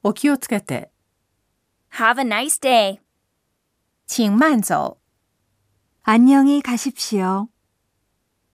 お気をつけて。 Have a nice day. 请慢走。 안녕히 가십시오.